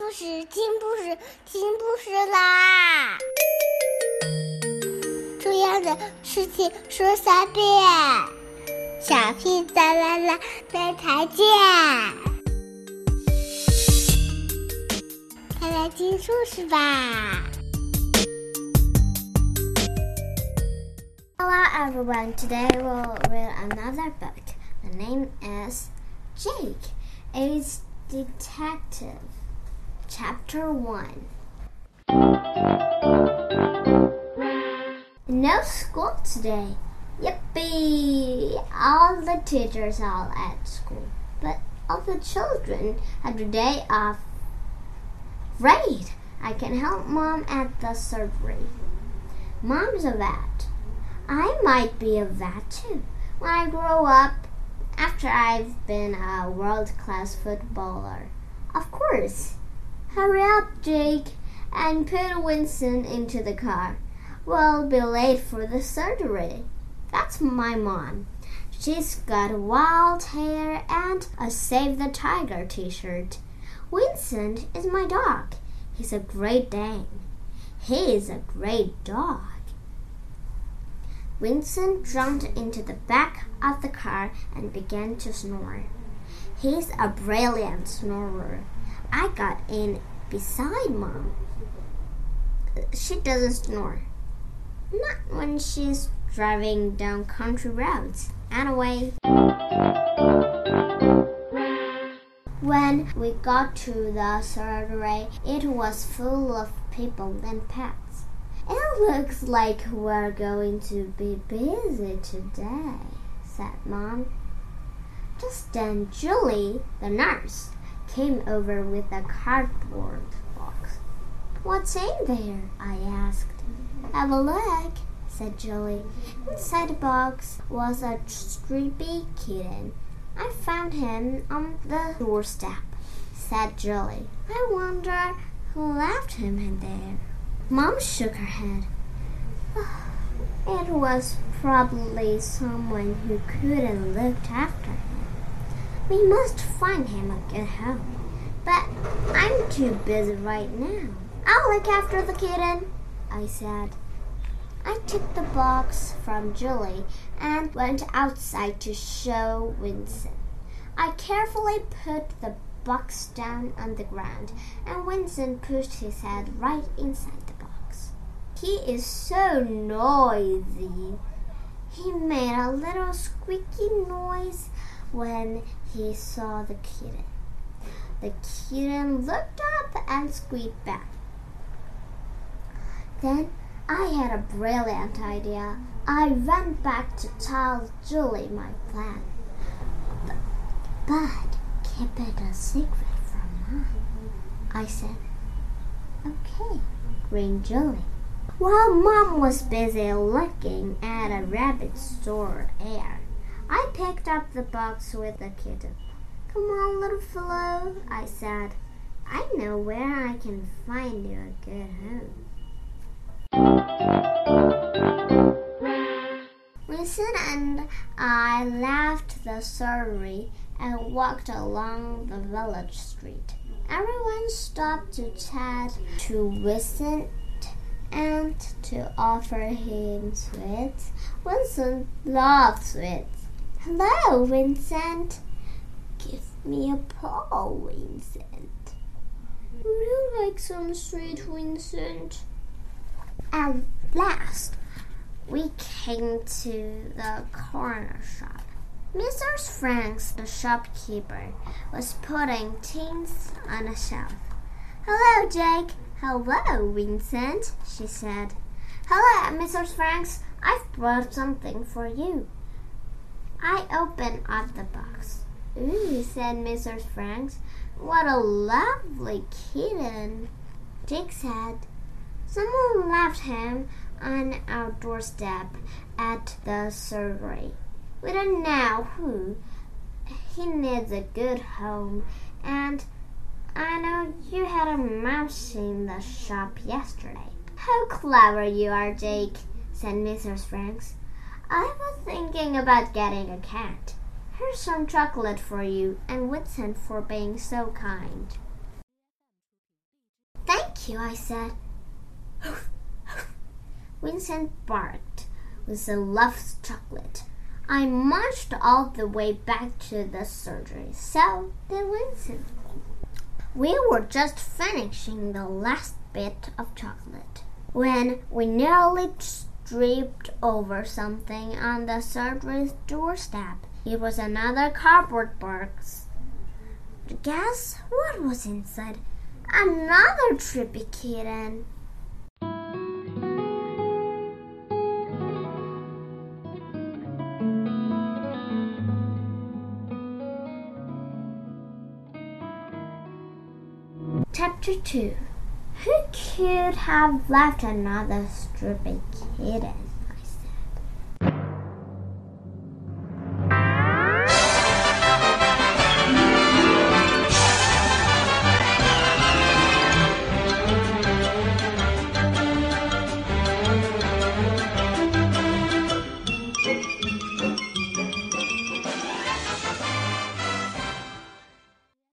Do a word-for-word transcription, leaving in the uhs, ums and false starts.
故事，听故事，听故事啦！重要的事情说三遍，小屁哒啦啦，明天见！快来听故事吧 Hello everyone, today we'll read another book. The name is Jake, a Detective. Chapter one. No school today. Yippee! All the teachers are at school, but all the children have the day off. Great! I can help Mom at the surgery. Mom's a vet. I might be a vet too when I grow up, after I've been a world-class footballer. Of course. Hurry up, Jake, and put Winston into the car. We'll be late for the surgery. That's my mom. She's got wild hair and a Save the Tiger t-shirt. Winston is my dog. He's a Great Dane. He is a great dog. Winston jumped into the back of the car and began to snore. He's a brilliant snorer. I got in beside Mom. She doesn't snore. Not when she's driving down country roads. Anyway, when we got to the surgery, it was full of people and pets. It looks like we're going to be busy today, said Mom. Just then Julie, the nurse, came over with a cardboard box. What's in there? I asked. Have a look, said Julie. Inside the box was a sleepy kitten. I found him on the doorstep, said Julie. I wonder who left him in there. Mom shook her head. It was probably someone who couldn't look after him. We must find him a good home. But I'm too busy right now. I'll look after the kitten, I said. I took the box from Julie and went outside to show Winston. I carefully put the box down on the ground, and Winston pushed his head right inside the box. He is so noisy. He made a little squeaky noise when he saw the kitten. The kitten looked up and squeaked back. Then I had a brilliant idea. I ran back to tell Julie my plan. But, but keep it a secret from Mom, I said. Okay, grinned Julie. While Mom was busy looking at a rabbit's sore ear, I picked up the box with the kitten. Come on, little fellow, I said. I know where I can find you a good home. Winston and I left the surgery and walked along the village street. Everyone stopped to chat to Winston and to offer him sweets. Winston loved sweets. Hello, Vincent. Give me a paw, Vincent. Would you like some sweet, Vincent? At last, we came to the corner shop. Missus Franks, the shopkeeper, was putting things on a shelf. Hello, Jake. Hello, Vincent, she said. Hello, Missus Franks. I've brought something for you. I opened up the box. Ooh, said Missus Franks. What a lovely kitten. Jake said, someone left him on our doorstep at the surgery. We don't know who. He needs a good home, and I know you had a mouse in the shop yesterday. How clever you are, Jake, said Missus Franks. I was thinking about getting a cat. Here's some chocolate for you, and Winston for being so kind. you, I said. Vincent barked with the loved chocolate. I marched all the way back to the surgery. So did Vincent. We were just finishing the last bit of chocolate when we nearly tripped over something on the surgery doorstep. It was another cardboard box. Guess what was inside? Another trippy kitten. Chapter two. Who could have left another trippy kitten?